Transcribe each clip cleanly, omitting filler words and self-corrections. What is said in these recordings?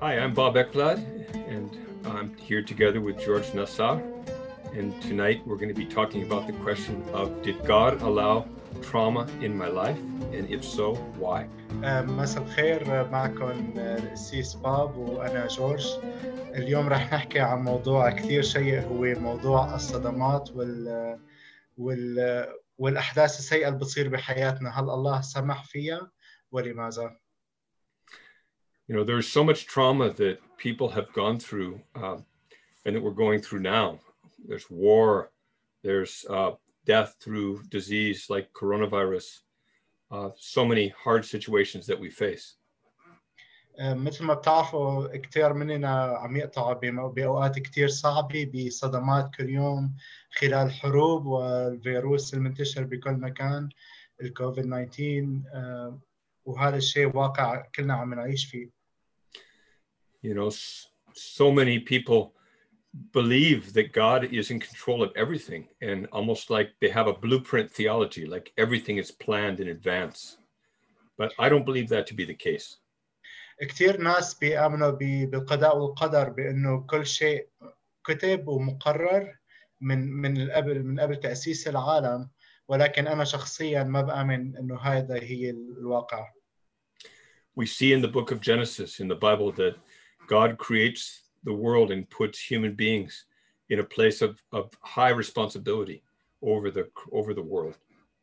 Hi, I'm Bob Ekblad, and I'm here together with George Nassar. And tonight we're going to be talking about the question of, did God allow trauma in my life? And if so, why? مساء الخير، معكم القسيس باب وأنا جورج. اليوم رح نحكي عن موضوع كثير شيق، هو موضوع الصدمات والأحداث السيئة اللي بتصير بحياتنا. هل الله سمح فيها ولماذا؟ You know, there's so much trauma that people have gone through and that we're going through now. There's war, there's death through disease like coronavirus, so many hard situations that we face. مثل ما بتعرفوا كثير مننا عم يقطعوا بأوقات كثير صعبة، بصدمات كل يوم خلال حروب والفيروس المنتشر بكل مكان، الكوفيد 19، وهذا الشيء واقع كلنا عم نعيش فيه. You know, so many people believe that God is in control of everything, and almost like they have a blueprint theology, like everything is planned in advance. But I don't believe that to be the case. كثير ناس بيآمنوا بالقضاء والقدر، بأنه كل شيء كتب ومقرر من قبل تأسيس العالم، ولكن أنا شخصيا ما بآمن أنه هذا هي الواقع. We see in the book of Genesis in the Bible that God creates the world and puts human beings in a place of high responsibility over the world.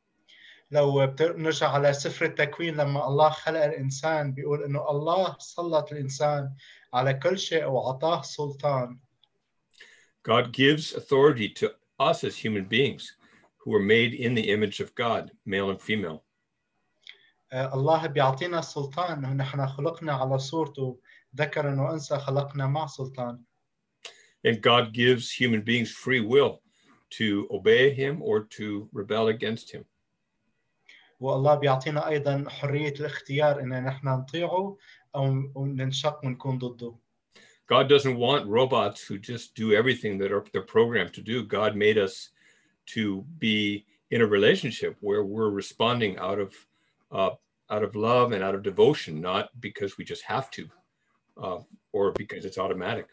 لو بنرجع على سفر التكوين، لما الله خلق الإنسان بيقول إنه الله سلط الإنسان على كل شيء وعطاه سلطان. God gives authority to us as human beings who are made in the image of God, male and female. الله بيعطينا السلطان، إنه نحن خلقنا على صورته، ذكرا وأنثى خلقنا مع سلطان. And God gives human beings free will to obey him or to rebel against him. والله بيعطينا أيضا حرية الاختيار إن نحن نطيعه أو ننشق ونكون ضده. God doesn't want robots who just do everything that they're programmed to do. God made us to be in a relationship where we're responding out of love and out of devotion, not because we just have to, or because it's automatic.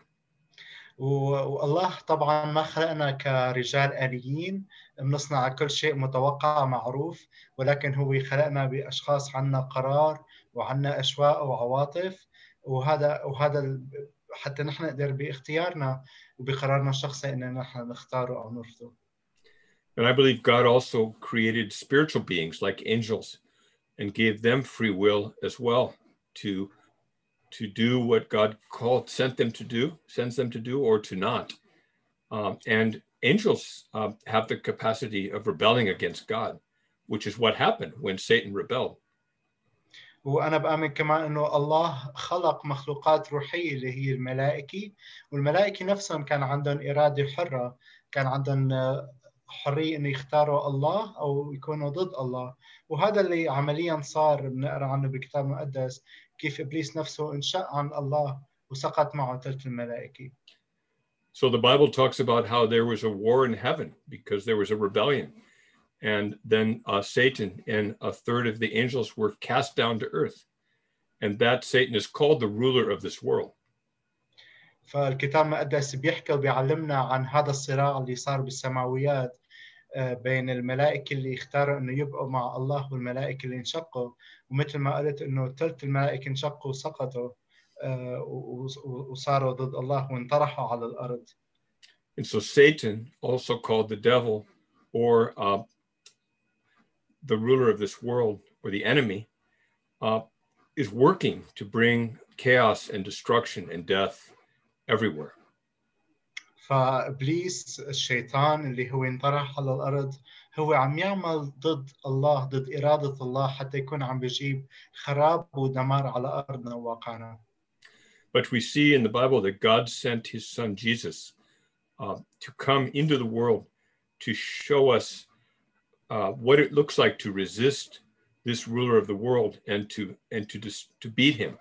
والله طبعا ما خلقنا كرجال آليين بنصنع كل شيء متوقع معروف، ولكن هو خلقنا بأشخاص عنا قرار وعنا أشواق وعواطف، وهذا حتى نحن نقدر باختيارنا وبقرارنا الشخصي إن نحن نختاره أو نرفضه. And I believe God also created spiritual beings like angels and gave them free will as well to do what God sends them to do, or to not. And angels have the capacity of rebelling against God, which is what happened when Satan rebelled. وأنا بآمن كمان إنه الله خلق مخلوقات روحية اللي هي الملائكة، والملائكة نفسهم كان عندهم إرادة حرة، كان عندهم حرية إنه يختاروا الله أو يكونوا ضد الله، وهذا اللي عمليا صار. بنقرأ عنه بالكتاب المقدس كيف إبليس نفسه انشق عن الله وسقط معه ثلث الملائكة. So the Bible talks about how there was a war in heaven because there was a rebellion. And then Satan and a third of the angels were cast down to earth. And that Satan is called the ruler of this world. فالكتاب المقدس بيحكي وبيعلمنا عن هذا الصراع اللي صار بالسماويات بين الملائكة اللي اختاروا إنه يبقوا مع الله والملائكة اللي انشقوا، ومثل ما قلت إنه ثلث الملائكة انشقوا وسقطوا وصاروا ضد الله وانطرحوا على الأرض. And so Satan, also called the devil or the ruler of this world or the enemy, is working to bring chaos and destruction and death everywhere. فإبليس الشيطان اللي هو انطرح على الأرض هو عم يعمل ضد الله، ضد إرادة الله، حتى يكون عم بيجيب خراب ودمار على أرضنا وواقعنا. But we see in the Bible that God sent his son Jesus to come into the world to show us what it looks like to resist this ruler of the world and to beat him.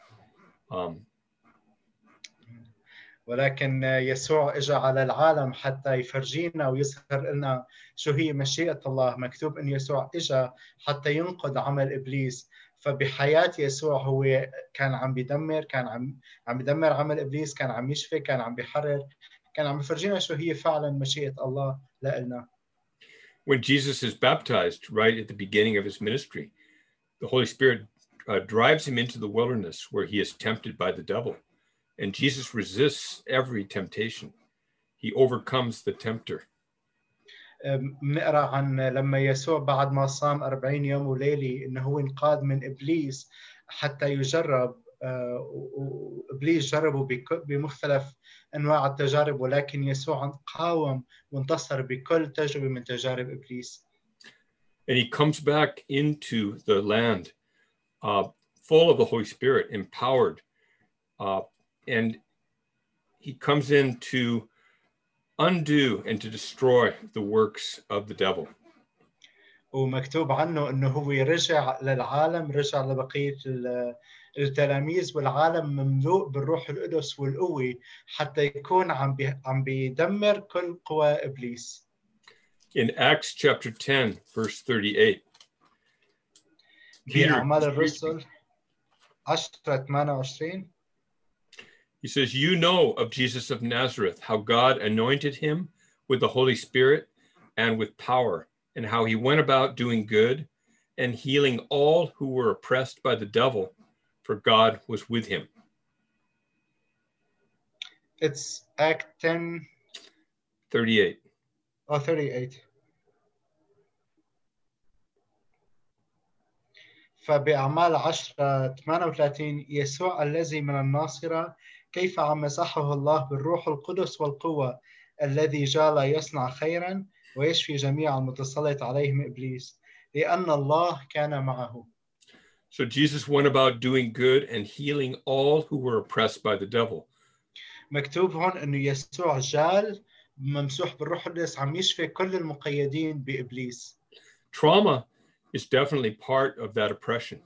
ولكن يسوع اجى على العالم حتى يفرجينا ويظهر لنا شو هي مشيئة الله. مكتوب ان يسوع اجى حتى ينقض عمل ابليس، فبحياة يسوع هو كان عم بيدمر، كان عم بيدمر عمل إبليس، كان عم يشفي، كان عم بيحرر، كان عم بيفرجينا شو هي فعلا مشيئة الله لنا. When Jesus is baptized right at the beginning of his ministry, the Holy Spirit drives him into the wilderness where he is tempted by the devil. And Jesus resists every temptation. He overcomes the tempter. بنقرا عن لما يسوع بعد ما صام 40 يوم وليلة انه هو انقاد من ابليس حتى يجرب، وابليس جربه بمختلف انواع التجارب، ولكن يسوع قاوم وانتصر بكل تجربة من تجارب ابليس. And he comes back into the land full of the Holy Spirit, empowered, and he comes in to undo and to destroy the works of the devil. ومكتوب عنه انه هو رجع للعالم، رجع لبقيه التلاميذ، والعالم مملوء بالروح القدس والقوه حتى يكون عم بيدمر كل قوى ابليس. In Acts chapter 10 verse 38, بأعمال الرسل 10:28 he says, "You know of Jesus of Nazareth, how God anointed him with the Holy Spirit and with power, and how he went about doing good and healing all who were oppressed by the devil, for God was with him." It's Act 10:38. 38. فبأعمال 10:38 يسوع الذي من الناصرة كيف عم مسحه الله بالروح القدس والقوة، الذي جعل يصنع خيرا ويشفي جميع المتسلط عليهم إبليس، لأن الله كان معه. So Jesus went about doing good and healing all who were oppressed by the devil. مكتوب هون إنه يسوع جال ممسوح بالروح القدس عم يشفي كل المقيدين بإبليس. Trauma is definitely part of that oppression.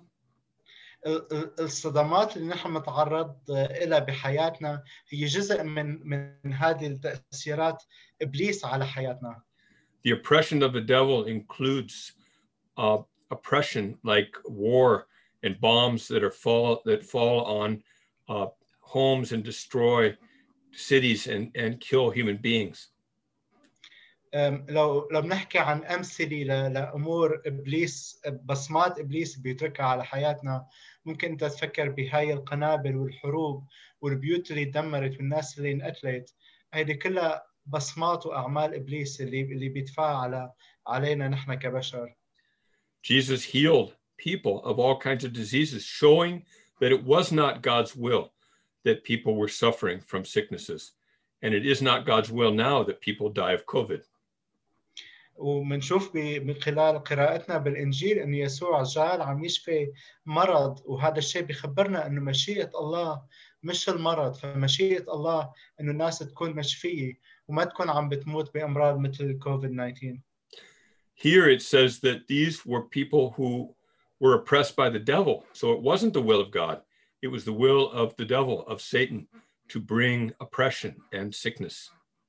الصدمات اللي نحن نتعرض لها بحياتنا هي جزء من هذه التأثيرات إبليس على حياتنا. The oppression of the devil includes oppression like war and bombs that fall on homes and destroy cities and kill human beings. لو بنحكي عن أمثلة لأمور إبليس، بصمات إبليس بيتركها على حياتنا، ممكن أنت تفكر بهاي القنابل والحروب والبيوت اللي دمرت والناس اللي انقتلت. هذه كلها بصمات وأعمال إبليس اللي بيدفعها علينا نحن كبشر. Jesus healed people of all kinds of diseases, showing that it was not God's will that people were suffering from sicknesses. And it is not God's will now that people die of COVID. ومنشوف من خلال قراءتنا بالإنجيل أن يسوع جال عم يشفي مرض، وهذا الشيء بيخبرنا أنه مشيئة الله مش المرض، فمشيئة الله أنه الناس تكون مشفية وما تكون عم بتموت بأمراض مثل COVID-19. Here it says that these were people who were oppressed by the devil. So it wasn't the will of God. It was the will of the devil, of Satan, to bring oppression and sickness.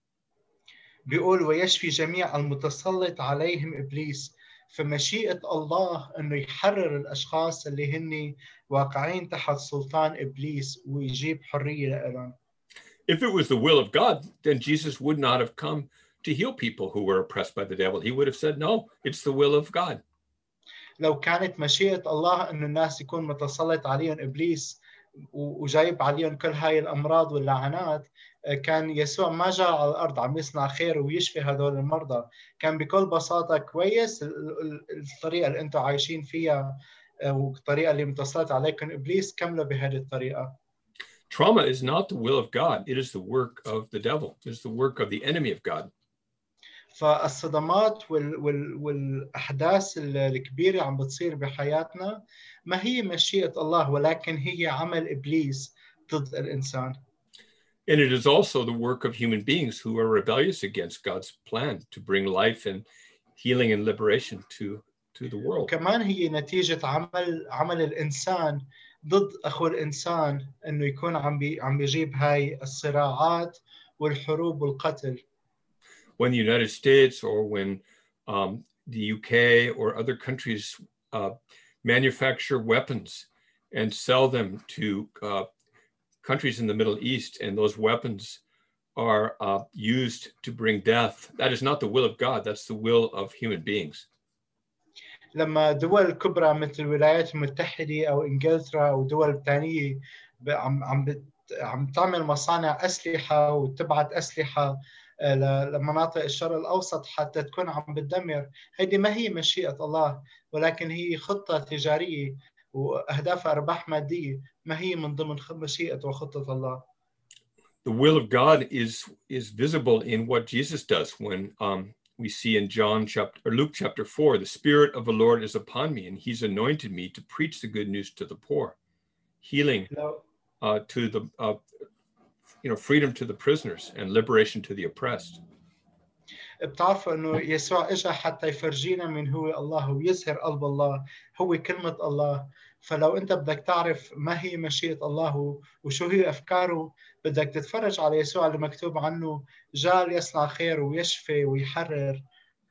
بيقول ويشفي جميع المتسلط عليهم إبليس، فمشيئة الله أنه يحرر الأشخاص اللي هن واقعين تحت سلطان إبليس ويجيب حرية لهم. If it was the will of God, then Jesus would not have come to heal people who were oppressed by the devil. He would have said, no, it's the will of God. لو كانت مشيئة الله أنه الناس يكون متسلط عليهم إبليس وجايب عليهم كل هاي الأمراض واللعنات، كان يسوع ما جاء على الأرض عم يصنع خير ويشفي هذول المرضى. كان بكل بساطة كويس الطريقة اللي أنتم عايشين فيها والطريقة اللي متسلط عليكم إبليس كملوا بهذه الطريقة. Trauma is not the will of God. It is the work of the devil. It is the work of the enemy of God. فالصدمات والأحداث الكبيرة عم بتصير بحياتنا ما هي مشيئة الله، ولكن هي عمل إبليس ضد الإنسان. And it is also the work of human beings who are rebellious against God's plan to bring life and healing and liberation to the world. وكمان هي نتيجة عمل الإنسان ضد أخو الإنسان، إنه يكون عم بيجيب هاي الصراعات والحروب والقتل. When the United States or when the UK or other countries manufacture weapons and sell them to countries in the Middle East, and those weapons are used to bring death. That is not the will of God. That's the will of human beings. لما دول كبرى مثل الولايات المتحدة أو إنجلترا أو دول تانية عم تعمل مصانع أسلحة وتبعت أسلحة لمناطق الشرق الأوسط حتى تكون عم بتدمر، هيدي ما هي مشيئة الله، ولكن هي خطة تجارية وأهداف أرباح مادية، ما هي من ضمن مشيئة وخطة الله. The will of God is visible in what Jesus does when we see in Luke chapter 4, the Spirit of the Lord is upon me, and He's anointed me to preach the good news to the poor, healing to the freedom to the prisoners and liberation to the oppressed. بتعرفوا انه يسوع اجى حتى يفرجينا من هو الله ويظهر قلب الله، هو كلمة الله. فلو انت بدك تعرف ما هي مشيئة الله وشو هي افكاره، بدك تتفرج على يسوع اللي مكتوب عنه جاء ليصنع خير ويشفي ويحرر.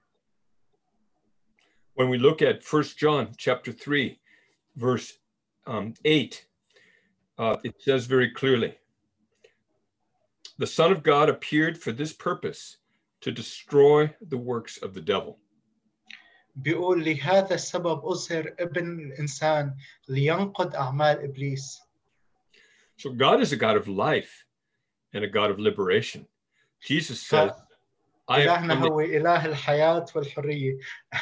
When we look at 1 John chapter 3, verse 8, it says very clearly, the Son of God appeared for this purpose, to destroy the works of the devil. بيقول لهذا السبب أظهر ابن الإنسان لينقض أعمال إبليس. So God is a God of life and a God of liberation. Jesus says, إلهنا هو إله الحياة والحرية.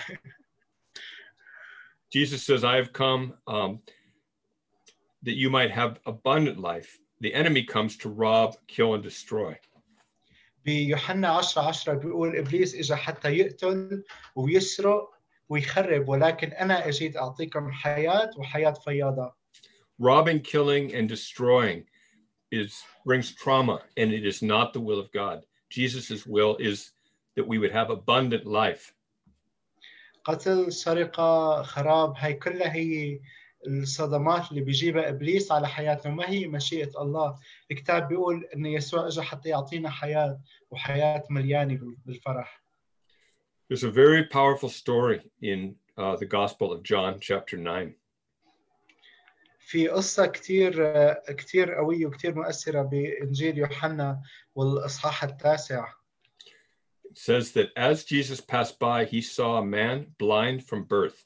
Jesus says, I have come that you might have abundant life. The enemy comes to rob, kill, and destroy. بيوحنا 10:10 بيقول إبليس إجا حتى يقتل ويسرق ويخرب، ولكن أنا أجيت أعطيكم حياة وحياة فياضة. Robbing, killing, and destroying brings trauma, and it is not the will of God. Jesus' will is that we would have abundant life. قتل، سرقة، خراب، هاي كلها هي الصدمات اللي بيجيبها إبليس على حياتنا، ما هي مشيئة الله. الكتاب بيقول إن يسوع إجا حتى يعطينا حياة وحياة مليانة بالفرح. There's a very powerful story in the Gospel of John, chapter 9. في قصة كتير قوية وكتير مؤثرة بإنجيل يوحنا والإصحاح 9. It says that as Jesus passed by, he saw a man blind from birth.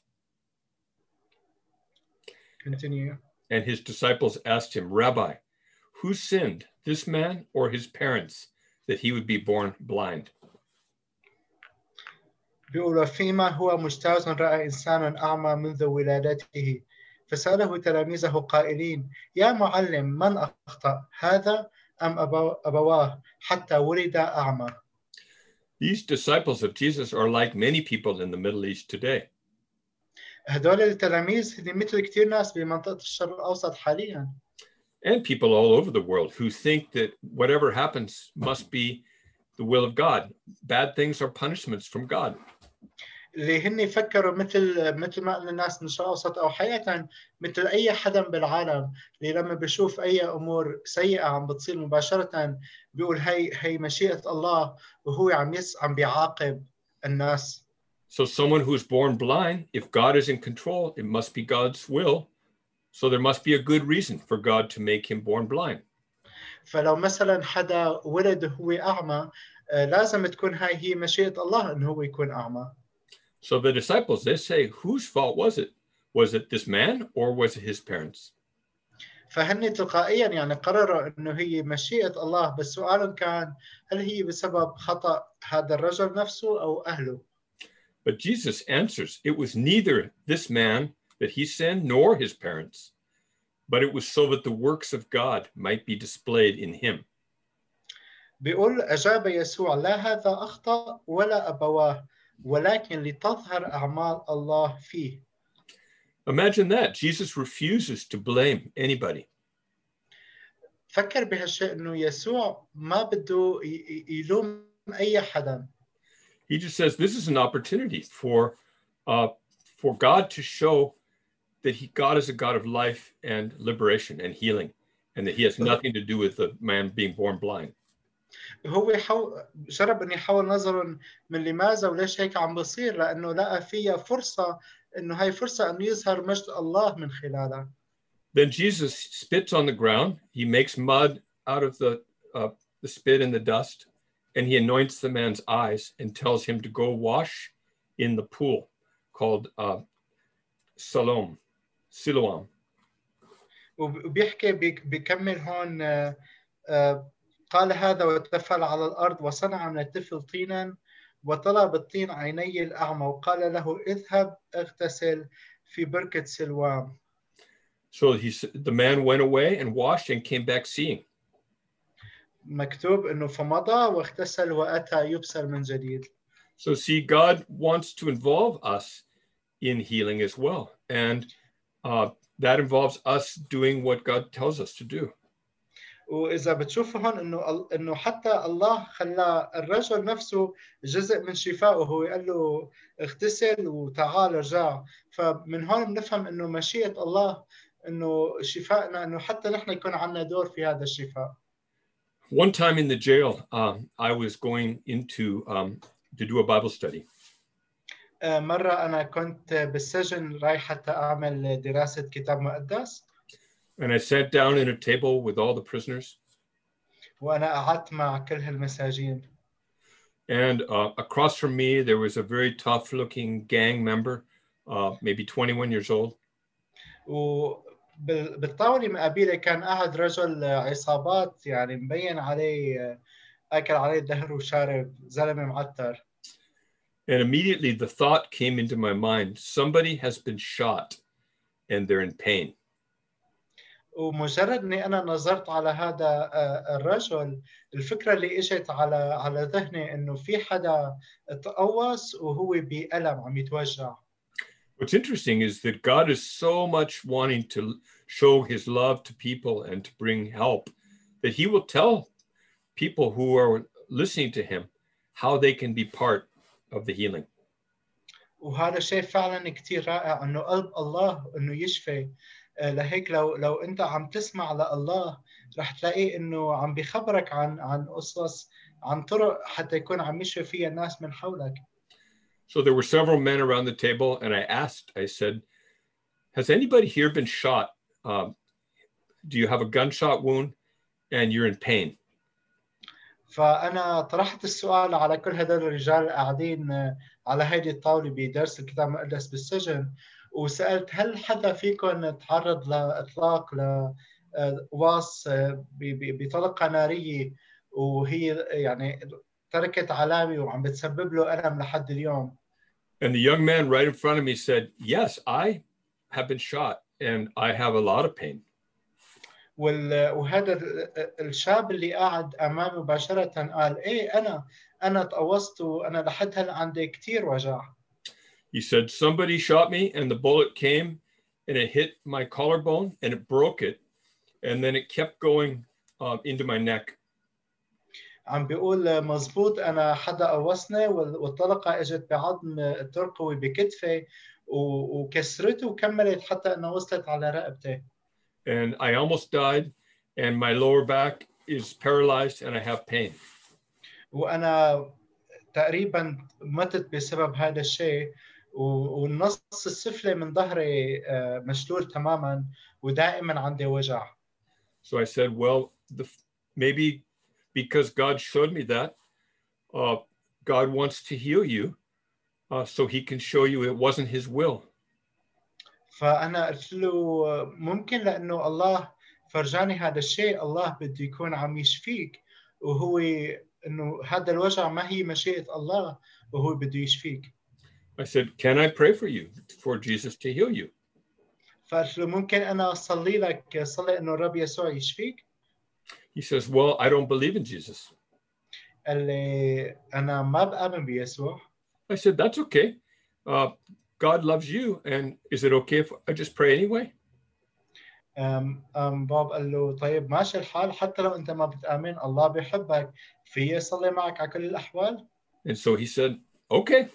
Continue. And his disciples asked him, Rabbi, who sinned, this man or his parents, that he would be born blind? بيقول فيما هو مجتاز رأى إنسان أعمى منذ ولادته، فسأله تلاميذه قائلين يا معلم من أخطأ هذا أم أبواه حتى ولد أعمى. These disciples of Jesus are like many people in the Middle East today. هدول التلاميذ مثل كتير ناس بمنطقة الشرق الأوسط حاليا. And people all over the world who think that whatever happens must be the will of God. Bad things are punishments from God. اللي هن يفكروا مثل ما قلنا الناس من الشرق الأوسط أو حقيقة مثل أي حدا بالعالم اللي لما بيشوف أي أمور سيئة عم بتصير مباشرة بيقول هي مشيئة الله وهو عم بيعاقب الناس. So someone who's born blind, if God is in control, it must be God's will. So there must be a good reason for God to make him born blind. فلو مثلا حدا ولد هو أعمى لازم تكون هي مشيئة الله إنه هو يكون أعمى. So the disciples, they say, whose fault was it? Was it this man or was it his parents? فهن تلقائيا يعني قرروا إنه هي مشيئة الله، بس سؤالهم كان هل هي بسبب خطأ هذا الرجل نفسه أو أهله؟ But Jesus answers, it was neither this man that he sinned nor his parents, but it was so that the works of God might be displayed in him. بيقول أجاب يسوع لا هذا أخطأ ولا أبواه ولكن لتظهر أعمال الله فيه. Imagine that. Jesus refuses to blame anybody. فكر بهالشيء إنه يسوع ما بده يلوم أي حدا. He just says this is an opportunity for God to show that God is a God of life and liberation and healing, and that he has nothing to do with the man being born blind. هو جرب أن يحول نظرهم من لماذا وليش هيك عم بصير، لأنه لقى فيها فرصة إنه هاي فرصة إنه يظهر مجد الله من خلالها. Then Jesus spits on the ground. He makes mud out of the spit and the dust, and he anoints the man's eyes and tells him to go wash in the pool called Siloam. وبيحكي بيكمل هون قال هذا وتفل على الأرض وصنع من الطفل طينا وطلب الطين عيني الأعمى وقال له اذهب اغتسل في بركة سلوام. So the man went away and washed and came back seeing. مكتوب إنه فمضى واغتسل وأتى يبصر من جديد. So see, God wants to involve us in healing as well. And that involves us doing what God tells us to do. وإذا بتشوفوا هون إنه حتى الله خلى الرجل نفسه جزء من شفائه، هو قال له اغتسل وتعال ارجع. فمن هون بنفهم إنه مشيئة الله إنه شفائنا إنه حتى نحن يكون عندنا دور في هذا الشفاء. One time in the jail, I was going into to do a Bible study. مرة أنا كنت بالسجن رايح حتى أعمل دراسة كتاب مقدس. And I sat down at a table with all the prisoners. وأنا قعدت مع كل هالمساجين. And across from me, there was a very tough-looking gang member, maybe 21 years old. وبالطاولة مقابلي كان قاعد رجل عصابات، يعني مبين عليه أكل عليه الدهر وشارب، زلمة معتر. And immediately the thought came into my mind, somebody has been shot and they're in pain. ومجرد اني انا نظرت على هذا الرجل، الفكره اللي اجت على ذهني انه في حدا تقوس وهو بألم عم يتوجع. What's interesting is that God is so much wanting to show his love to people and to bring help that he will tell people who are listening to him how they can be part of the healing. وهذا شيء فعلا كتير رائع، انه قلب الله انه يشفي. لهيك لو انت عم تسمع لله رح تلاقي انه عم بيخبرك عن قصص، عن طرق حتى يكون عم يشفي فيها الناس من حولك. So there were several men around the table, and I said, has anybody here been shot? Do you have a gunshot wound and you're in pain? فأنا طرحت السؤال على كل هدول الرجال قاعدين على هيدي الطاولة بدرس الكتاب المقدس بالسجن، وسألت هل حدا فيكم تعرض لإطلاق لواص بطلقة نارية وهي يعني تركت علامة وعم بتسبب له ألم لحد اليوم. And the young man right in front of me said, yes, I have been shot and I have a lot of pain. وهذا الشاب اللي قاعد امامي مباشره قال ايه انا تقوصت وانا لحد هلا عندي كثير وجع. He said somebody shot me and the bullet came and it hit my collarbone and it broke it and then it kept going into my neck. عم بيقول مزبوط، انا حدا قوصني والطلقه اجت بعظم الترقوي بكتفي وكسرته وكملت حتى انه وصلت على رقبتي. And I almost died and my lower back is paralyzed and I have pain. وأنا تقريبا متت بسبب هذا الشيء، والنص السفلي من ظهري مشلول تماما ودائما عندي وجع. So I said, well, maybe because God showed me that, God wants to heal you so he can show you it wasn't his will. فأنا قلت له ممكن لأنه الله فرجاني هذا الشيء، الله بده يكون عم يشفيك، وهو إنه هذا الوجع ما هي مشيئة الله وهو بده يشفيك. I said, can I pray for you for Jesus to heal you? فقلت له ممكن أنا أصلي لك، صلي إنه الرب يسوع يشفيك. He says, well, I don't believe in Jesus. قال لي أنا ما بآمن بيسوع. I said, that's okay. God loves you, and is it okay if I just pray anyway? باب قال له طيب ماشي الحال، حتى لو أنت ما بتآمن الله بيحبك، في يصلي معك على كل الأحوال. And so he said, okay.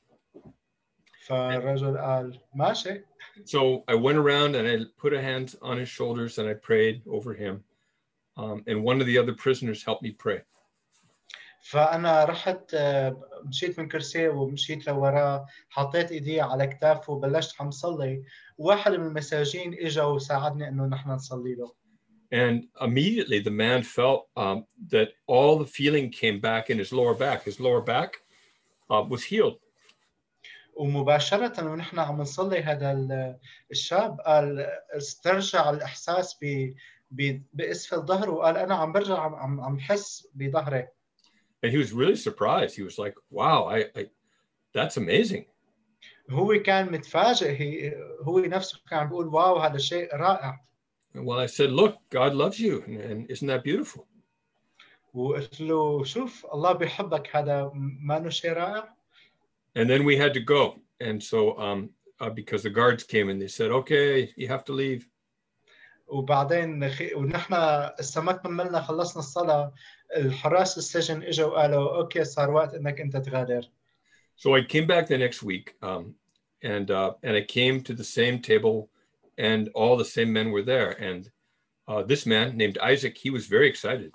فالرجل قال ماشي. So I went around and I put a hand on his shoulders and I prayed over him. And one of the other prisoners helped me pray. فأنا رحت مشيت من كرسي ومشيت لوراه، حطيت إيدي على كتافه وبلشت عم صلي، وواحد من المساجين إجا وساعدني إنه نحن نصلي له. And immediately the man felt that all the feeling came back in his lower back. His lower back was healed. ومباشرة ونحن عم نصلي هذا الشاب قال استرجع الإحساس بأسفل ظهره، وقال أنا عم برجع عم حس بظهري. And he was really surprised. He was like, wow, that's amazing. هو كان متفاجئ، هو نفسه كان بيقول واو هذا شيء رائع. Well, I said, look, God loves you. And isn't that beautiful? وقلت له شوف الله بيحبك، هذا ما إنه شيء رائع. And then we had to go. And so because the guards came and they said, okay, you have to leave. وبعدين ونحن استمكنا منا خلصنا الصلاة، الحراس السجن اجوا وقالوا اوكي صار وقت انك انت تغادر. So I came back the next week and I came to the same table and all the same men were there. And this man named Isaac, he was very excited.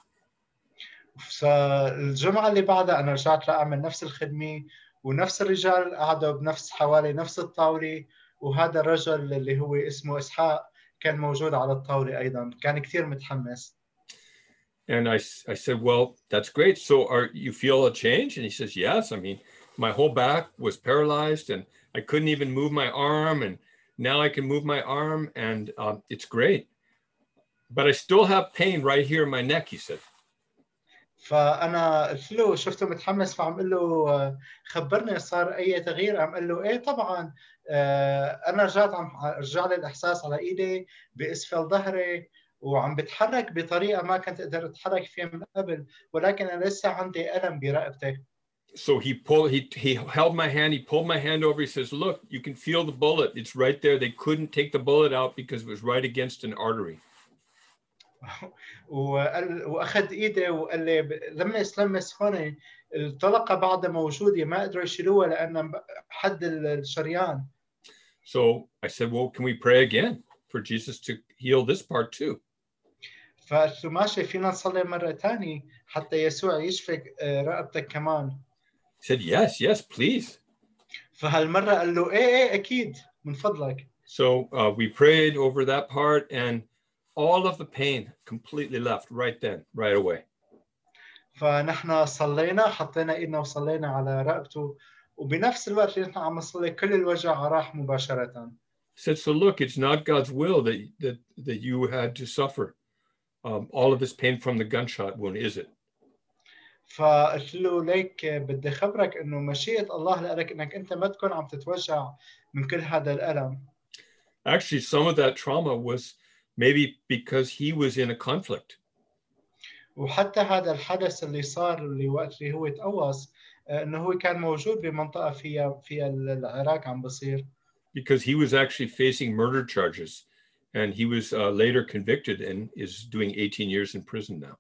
فالجمعة اللي بعدها أنا رجعت لأعمل نفس الخدمة، ونفس الرجال قعدوا بنفس حوالي نفس الطاولة، وهذا الرجل اللي هو اسمه إسحاق كان موجود على الطاولة أيضا، كان كتير متحمس. And I said, well, that's great. So you feel a change? And he says, yes. I mean, my whole back was paralyzed and I couldn't even move my arm. And now I can move my arm and it's great. But I still have pain right here in my neck, he said. فأنا قلت له شفته متحمس، فعم قل له خبرني صار أي تغيير؟ عم قل له إيه طبعا أنا رجعت رجع لي الإحساس على إيدي بأسفل ظهري، وعم بتحرك بطريقة ما كنت أقدر أتحرك فيها من قبل، ولكن أنا لسه عندي ألم برقبتي. So he held my hand, he pulled my hand over, he says, look, you can feel the bullet. It's right there. They couldn't take the bullet out because it was right against an artery. واخذ ايدي وقال لي لمس هون الطلقه بعدها موجوده، ما قدروا يشيلوها لان حد الشريان. So I said, well, can we pray again for Jesus to heal this part too? فقلت له ماشي، فينا نصلي مره ثانيه حتى يسوع يشفي رقبتك كمان. He said, yes, please. فهالمره قال له ايه اكيد من فضلك. So we prayed over that part and all of the pain completely left right then, right away. فنحن صلينا، حطينا ايدنا وصلينا على رقبته، وبنفس الوقت اللي نحن عم نصلي كل الوجع راح مباشره. Said, so look, it's not God's will that you had to suffer all of this pain from the gunshot wound, is it? فقلت له ليك بدي خبرك انه مشيئة الله لك انك انت ما تكون عم تتوجع من كل هذا الالم. Actually, some of that trauma was maybe because he was in a conflict. وحتى هذا الحدث اللي صار اللي وقت اللي هو تقوص انه هو كان موجود بمنطقة فيها العراق عم بصير. Because he was actually facing murder charges and he was later convicted and is doing 18 years in prison now.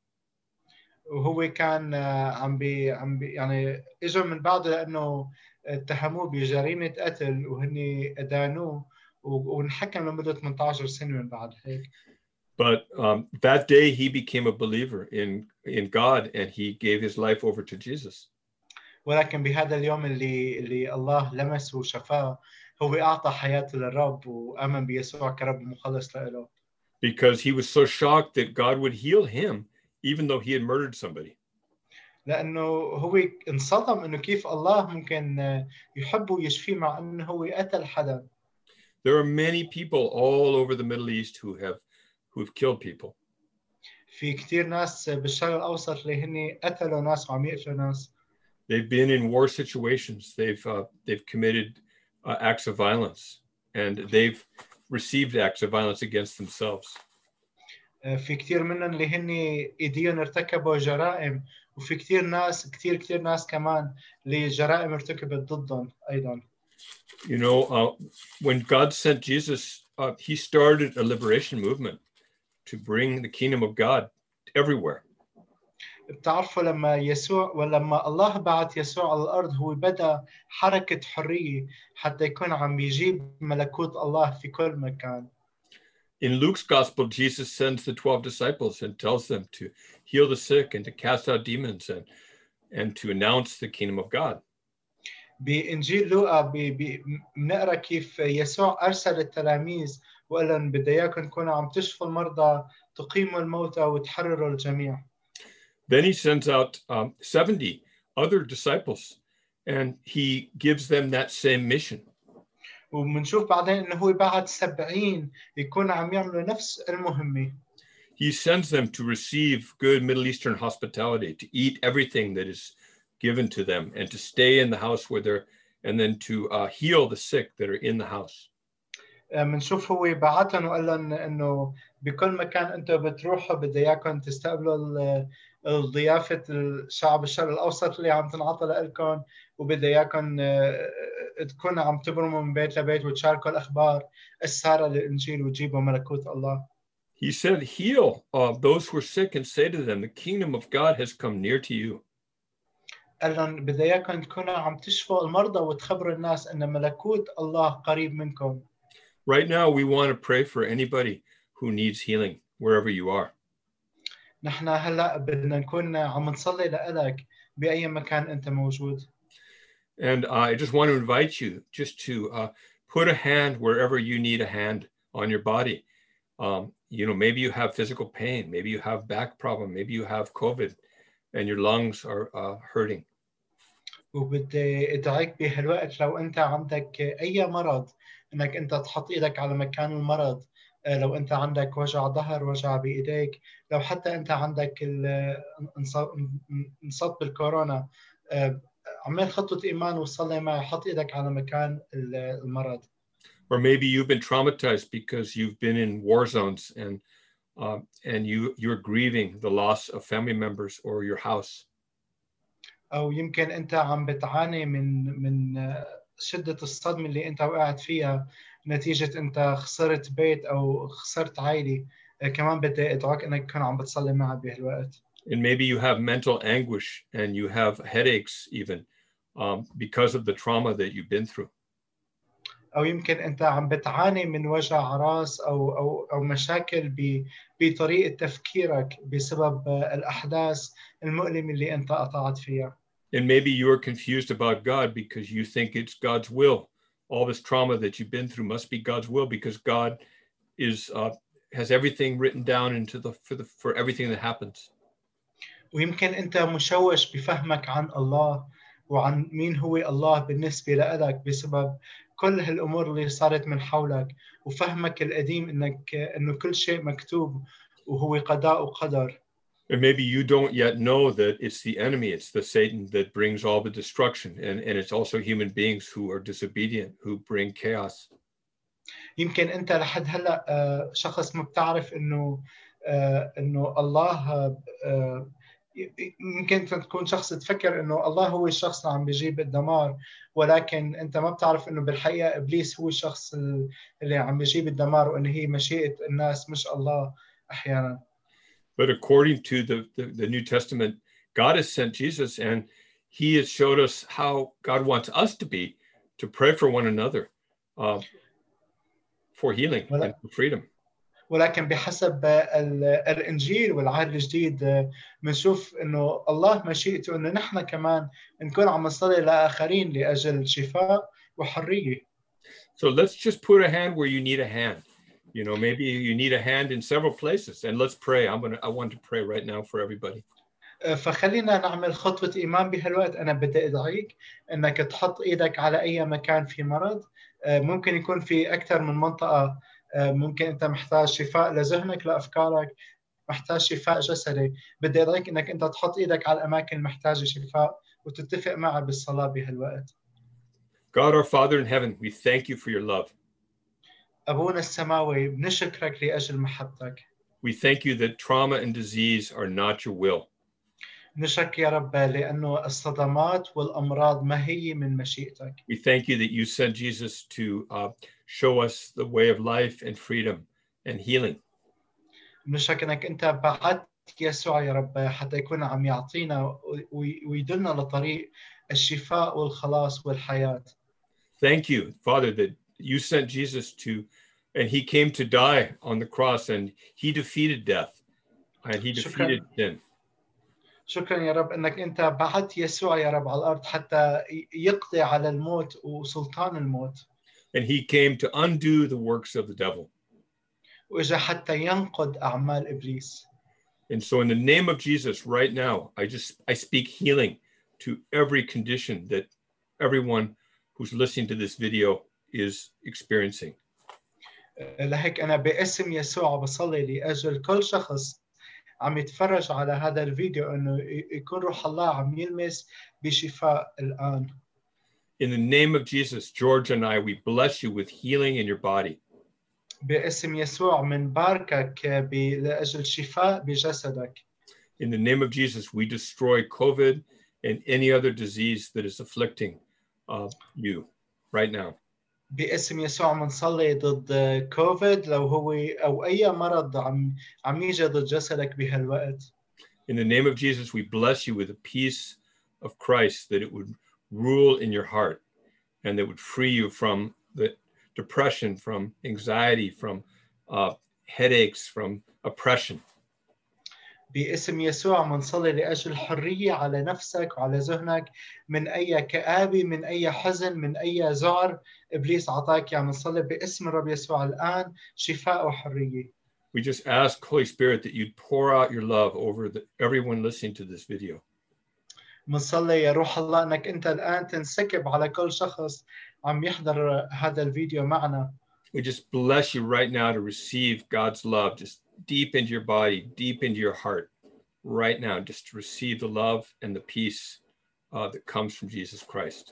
وهو كان عم بي يعني اجوا من بعده لانه اتهموه بجريمة قتل وهن ادانوه ونحكم لمدة 18 سنة من بعد هيك. But that day he became a believer in God and he gave his life over to Jesus. ولكن بهذا اليوم اللي الله لمسه وشفاه، هو أعطى حياته للرب وآمن بيسوع كرب ومخلص له. Because he was so shocked that God would heal him even though he had murdered somebody. لأنه هو انصدم إنه كيف الله ممكن يحبه ويشفيه مع إنه هو قتل حدا. There are many people all over the Middle East who've killed people. في كتير ناس بالشرق الأوسط اللي هن قتلوا ناس وعم يقتلوا ناس. They've been in war situations. They've committed acts of violence, and they've received acts of violence against themselves. في كتير منهم اللي هن ايديهم ارتكبوا جرائم، وفي كتير ناس كمان اللي جرائم ارتكبت ضدهم أيضا. You know, when God sent Jesus, he started a liberation movement to bring the kingdom of God everywhere. بتعرفوا ولما الله بعث يسوع على الأرض هو بدأ حركة حرية حتى يكون عم يجيب ملكوت الله في كل مكان. In Luke's gospel, Jesus sends the 12 disciples and tells them to heal the sick and to cast out demons and and to announce the kingdom of God. بإنجيل لوقا بنقرا كيف يسوع أرسل التلاميذ وقال لهم بدي إياكم تكونوا عم تشفوا المرضى تقيموا الموتى وتحرروا الجميع. Then he sends out 70 other disciples and he gives them that same mission. وبنشوف بعدين إنه هو بعد 70 يكونوا عم يعملوا نفس المهمة. He sends them to receive good Middle Eastern hospitality, to eat everything that is given to them, and to stay in the house where they're, and then to heal the sick that are in the house. بنشوف هو بعتهم وقال لهم إنه بكل مكان أنتم بتروحوا بدي إياكم تستقبلوا الضيافة الشعب الشرق الأوسط اللي عم تنعطى لكم وبدي إياكم تكونوا عم تبرموا من بيت لبيت وتشاركوا الأخبار السارة للإنجيل وتجيبوا ملكوت الله. He said, heal those who are sick and say to them, the kingdom of God has come near to you. قال لهم بدي إياكم تكونوا عم تشفوا المرضى وتخبروا الناس أن ملكوت الله قريب منكم. Right now, we want to pray for anybody who needs healing, wherever you are. نحن هلا بدنا نكون عم نصلي لك بأي مكان أنت موجود. And I just want to invite you just to put a hand wherever you need a hand on your body. Maybe you have physical pain, maybe you have back problem, maybe you have COVID and your lungs are hurting. وبدي ادعيك بهالوقت لو انت عندك اي مرض انك انت تحط ايدك على مكان المرض. لو انت عندك وجع ظهر وجع بايديك لو حتى انت عندك انصاب بالكورونا عمال خطوة ايمان وصلي معي حط ايدك على مكان المرض. Or maybe you've been traumatized because you've been in war zones and you're grieving the loss of family members or your house. أو يمكن أنت عم بتعاني من شدة الصدمة اللي أنت وقعت فيها نتيجة أنت خسرت بيت أو خسرت عائلة. كمان بدي أدعوك أنك تكون عم بتصلي معي بهالوقت. And maybe you have mental anguish and you have headaches even because of the trauma that you've been through. أو يمكن أنت عم بتعاني من وجع راس أو مشاكل بطريقة تفكيرك بسبب الأحداث المؤلمة اللي أنت قطعت فيها. And maybe you're confused about God because you think it's God's will. All this trauma that you've been through must be God's will because God has everything written down for everything that happens. ويمكن أنت مشوش بفهمك عن الله وعن مين هو الله بالنسبة لك بسبب كل هالأمور اللي صارت من حولك وفهمك القديم إنه كل شيء مكتوب وهو قضاء وقدر. And maybe you don't yet know that it's the enemy, it's the Satan that brings all the destruction. And it's also human beings who are disobedient, who bring chaos. يمكن أنت لحد هلأ شخص ما بتعرف إنه الله يمكن تكون شخص تفكر إنه الله هو الشخص اللي عم بيجيب الدمار ولكن أنت ما بتعرف إنه بالحقيقة إبليس هو الشخص اللي عم بيجيب الدمار وإن هي مشيئة الناس مش الله أحيانا. But according to the New Testament, God has sent Jesus and he has showed us how God wants us to be, to pray for one another for healing and for freedom. ولكن بحسب الإنجيل والعهد الجديد بنشوف إنه الله مشيئته إنه نحن كمان نكون عم نصلي لآخرين لأجل شفاء وحرية. So let's just put a hand where you need a hand. Maybe you need a hand in several places, and let's pray. I want to pray right now for everybody. فخلينا نعمل خطوة إيمان بهالوقت. أنا بدي أدعيك إنك تحط إيدك على أي مكان في مرض. ممكن يكون في أكثر من منطقة. ممكن أنت محتاج شفاء لذهنك لأفكارك محتاج شفاء جسدي. بدي أدعيك إنك أنت تحط إيدك على الأماكن المحتاجة شفاء وتتفق معي بالصلاة بهالوقت. God our Father in heaven, we thank you for your love. أبونا السماوي بنشكرك لأجل محبتك. We thank you that trauma and disease are not your will. نشكرك يا رب لأنه الصدمات والأمراض ما هي من مشيئتك. We thank you that you sent Jesus to show us the way of life and freedom and healing. نشكرك إنك أنت بعت يسوع يا رب حتى يكون عم يعطينا ويدلنا لطريق الشفاء والخلاص والحياة. Thank you, Father, that you sent Jesus and he came to die on the cross and he defeated death and he defeated sin. شكرا يا رب انك انت بعت يسوع يا رب على الارض حتى يقضي على الموت وسلطان الموت. And he came to undo the works of the devil. واجا حتى ينقض اعمال ابليس. And so in the name of Jesus right now, I speak healing to every condition that everyone who's listening to this video is experiencing. لهيك انا باسم يسوع بصلي لاجل كل شخص عم يتفرج على هذا الفيديو انه يكون روح الله عم يلمس بشفاء الان. In the name of Jesus, George and I, we bless you with healing in your body. باسم يسوع منباركك لاجل شفاء بجسدك. In the name of Jesus, we destroy COVID and any other disease that is afflicting you right now. باسم يسوع منصلي ضد كوفيد لو هو او اي مرض عم يجي ضد جسدك بهالوقت. In the name of Jesus, we bless you with the peace of Christ, that it would rule in your heart and that would free you from the depression, from anxiety, from headaches, from oppression. باسم يسوع منصلي لأجل حرية على نفسك وعلى ذهنك من أي كآبة، من أي حزن، من أي ذعر إبليس عطاك. يعني منصلي باسم الرب يسوع الآن شفاء وحرية. We just ask, Holy Spirit, that you'd pour out your love over everyone listening to this video. منصلي يا روح الله أنك أنت الآن تنسكب على كل شخص عم يحضر هذا الفيديو معنا. We just bless you right now to receive God's love just deep into your body, deep into your heart, right now, just to receive the love and the peace that comes from Jesus Christ.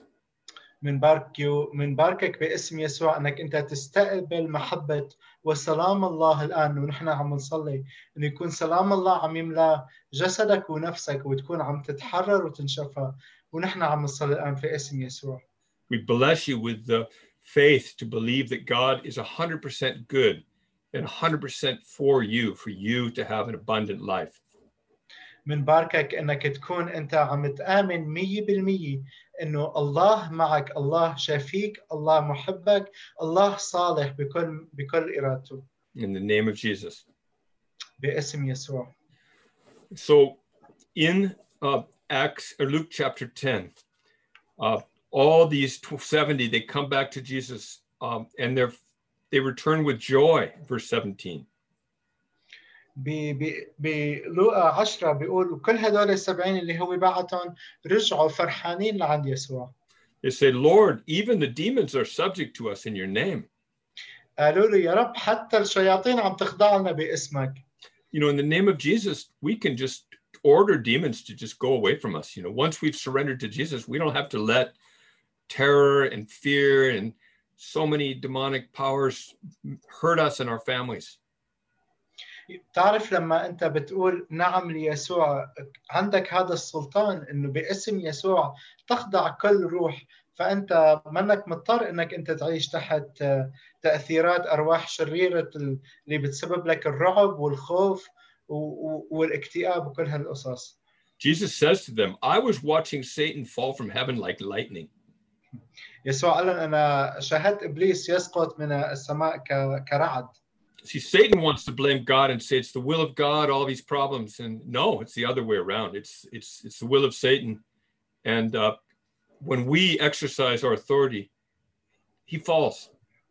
منباركك باسم يسوع أنك أنت تستقبل محبة وسلام الله الآن، ونحن عم نصلي إنه يكون سلام الله عم يملأ جسدك ونفسك وتكون عم تتحرر وتنشفى، ونحن عم نصلي الآن في اسم يسوع. We bless you with the faith to believe that God is 100% good and 100% for you to have an abundant life. منباركك انك تكون انت عم تآمن 100% انه الله معك، الله شافيك، الله محبك، الله صالح بكل ارادته. In the name of Jesus. باسم يسوع. So in Acts or Luke chapter 10, all these 70, they come back to Jesus and they return with joy, verse 17. بلوقا 10 بيقول كل هدول ال70 اللي هو بعتهم رجعوا فرحانين لعند يسوع. They say, Lord, even the demons are subject to us in your name. قالوا له يا رب حتى الشياطين عم تخضع لنا باسمك. You know, in the name of Jesus, we can just order demons to just go away from us. You know, once we've surrendered to Jesus, we don't have to let terror and fear and so many demonic powers hurt us and our families. تعرف لما أنت بتقول نعم ليسوع عندك هذا السلطان إنه باسم يسوع تخضع كل روح، فأنت منك مضطر إنك أنت تعيش تحت تأثيرات أرواح شريرة اللي بتسبب لك الرعب والخوف والاكتئاب وكل هالقصص. Jesus says to them, I was watching Satan fall from heaven like lightning. يسوع قال أنا شاهدت إبليس يسقط من السماء كرعد. See, Satan wants to blame God and say it's the will of God, all these problems. And no, it's the other way around. It's the will of Satan. And when we exercise our authority, he falls.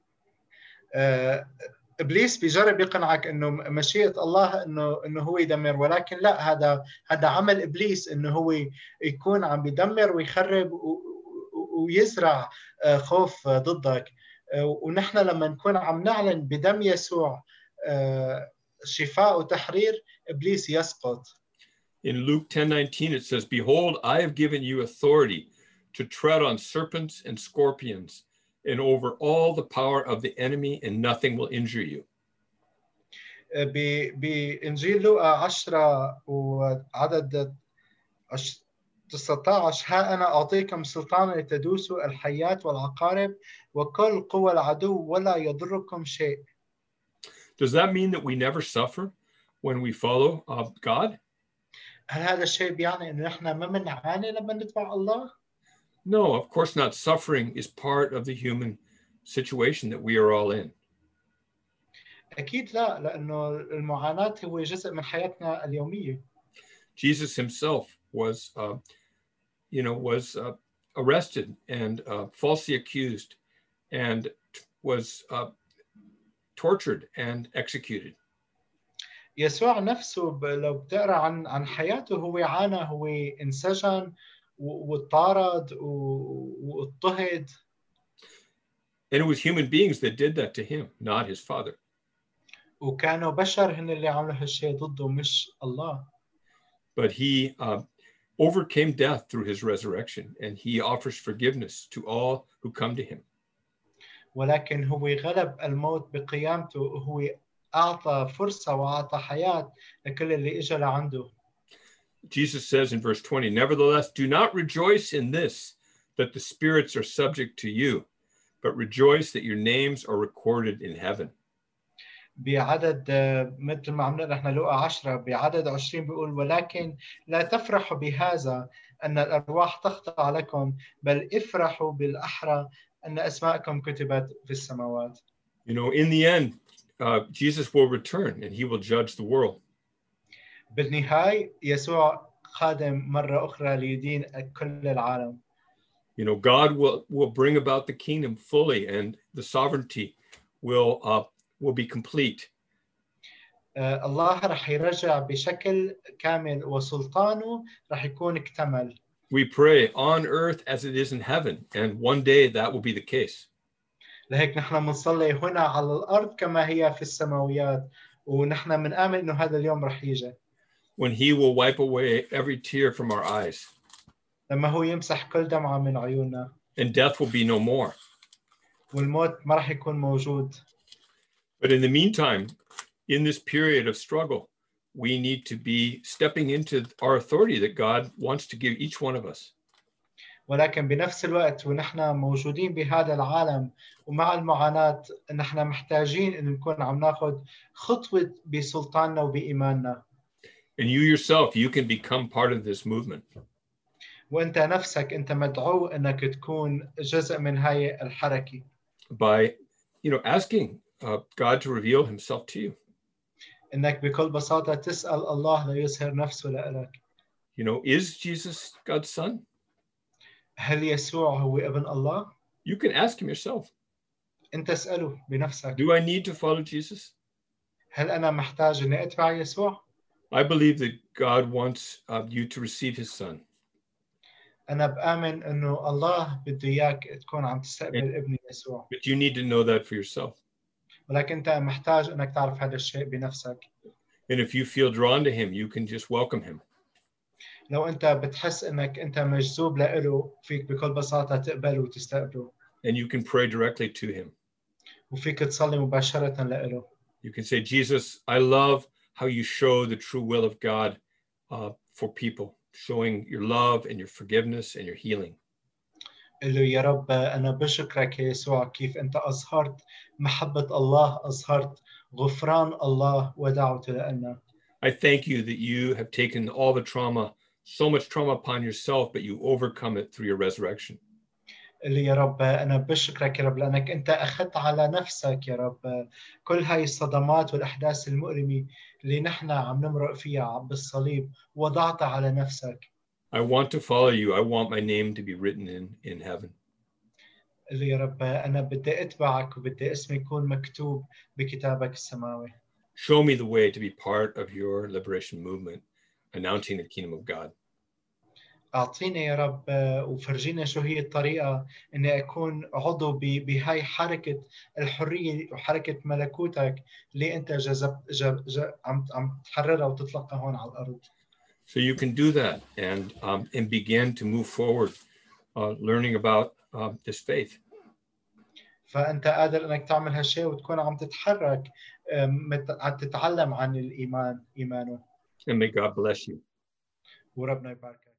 إبليس بيجرب يقنعك إنه مشيئة الله إنه هو يدمر، ولكن لا، هذا عمل إبليس إنه هو يكون عم بيدمر ويخرب ويزرع خوف ضدك. ونحن لما نكون عم نعلن بدم يسوع شفاء وتحرير، إبليس يسقط. In Luke 10:19 it says, Behold, I have given you authority to tread on serpents and scorpions and over all the power of the enemy, and nothing will injure you. بإنجيل لوقا 10 وعدد 19 ها أنا أعطيكم سلطانا لتدوسوا الحيات والعقارب وكل قوى العدو ولا يضركم شيء. Does that mean that we never suffer when we follow God? هل هذا الشيء بيعني إنه نحن ما بنعاني لما نتبع الله؟ No, of course not. Suffering is part of the human situation that we are all in. أكيد لا، لأنه المعاناة هو جزء من حياتنا اليومية. Jesus himself was arrested and falsely accused and was tortured and executed. يسوع نفسه لو بتقرا عن حياته هو عانى، هو انسجن واضطرد واضطهد. And it was human beings that did that to him, not his father. وكانوا بشر هن اللي عملوا هالشيء ضده مش الله. But he overcame death through his resurrection, and he offers forgiveness to all who come to him. ولكن هو غلب الموت بقيامته، وهو أعطى فرصة وأعطى حياة لكل اللي إجا لعنده. Jesus says in verse 20, "Nevertheless, do not rejoice in this, that the spirits are subject to you, but rejoice that your names are recorded in heaven." بعدد مثل ما عم نقرا احنا لوقا 10 بعدد 20 بيقول: ولكن لا تفرحوا بهذا أن الأرواح تخضع لكم، بل افرحوا بالأحرى أن أسماءكم كتبت في السماوات. You know, in the end, Jesus will return and he will judge the world. بالنهاية يسوع قادم مرة أخرى ليدين كل العالم. You know, God will bring about the kingdom fully, and the sovereignty will be complete. الله رح يرجع بشكل كامل وسلطانه رح يكون اكتمل. We pray on earth as it is in heaven, and one day that will be the case. لهيك نحن بنصلي هنا على الأرض كما هي في السماويات، ونحن بنآمن إنه هذا اليوم رح يجي. When he will wipe away every tear from our eyes. لما هو يمسح كل دمعة من عيوننا. And death will be no more. والموت ما رح يكون موجود. But in the meantime, in this period of struggle, we need to be stepping into our authority that God wants to give each one of us. ولكن بنفس الوقت ونحن موجودين بهذا العالم ومع المعاناة نحن محتاجين إن نكون عم ناخذ خطوة بسلطاننا وبإيماننا. And you yourself, you can become part of this movement. وأنت نفسك أنت مدعو إنك تكون جزء من هاي الحركة. By, asking God to reveal himself to you. إنك بكل بساطة تسأل الله ليظهر نفسه لك. Is Jesus God's son? هل يسوع هو ابن الله؟ You can ask him yourself. أنت اسأله بنفسك. Do I need to follow Jesus? هل أنا محتاج إني أتبع يسوع؟ I believe that God wants you to receive his son. أنا بآمن إنه الله بده إياك تكون عم تستقبل ابن يسوع. But you need to know that for yourself. ولكن أنت محتاج إنك تعرف هذا الشيء بنفسك. And if you feel drawn to him, you can just welcome him. لو أنت بتحس إنك أنت مجذوب له فيك بكل بساطة تقبله وتستقبله. And you can pray directly to him. وفيك تصلي مباشرة له. You can say, Jesus, I love how you show the true will of God for people, showing your love and your forgiveness and your healing. قل له يا رب أنا بشكرك يا يسوع كيف أنت أظهرت محبة الله، أظهرت غفران الله ودعوته لنا. I thank you that you have taken all the trauma, so much trauma upon yourself, but you overcome it through your resurrection. قل لي يا رب أنا بشكرك يا رب لأنك أنت أخذت على نفسك يا رب كل هاي الصدمات والأحداث المؤلمة اللي نحن عم نمرق فيها بالصليب، وضعتها على نفسك. I want to follow you. I want my name to be written in heaven. قل لي يا رب أنا بدي أتبعك وبدي اسمي يكون مكتوب بكتابك السماوي. Show me the way to be part of your liberation movement, announcing the kingdom of God. أعطيني يا رب وفرجينا شو هي الطريقة إني أكون عضو بهاي حركة الحرية وحركة ملكوتك اللي أنت عم تحررها وتطلقها هون على الأرض. So you can do that and begin to move forward, learning about this faith. فأنت قادر إنك تعمل هالشيء وتكون عم تتحرك عم تتعلم عن إيمانه. And may God bless you. وربنا يباركك.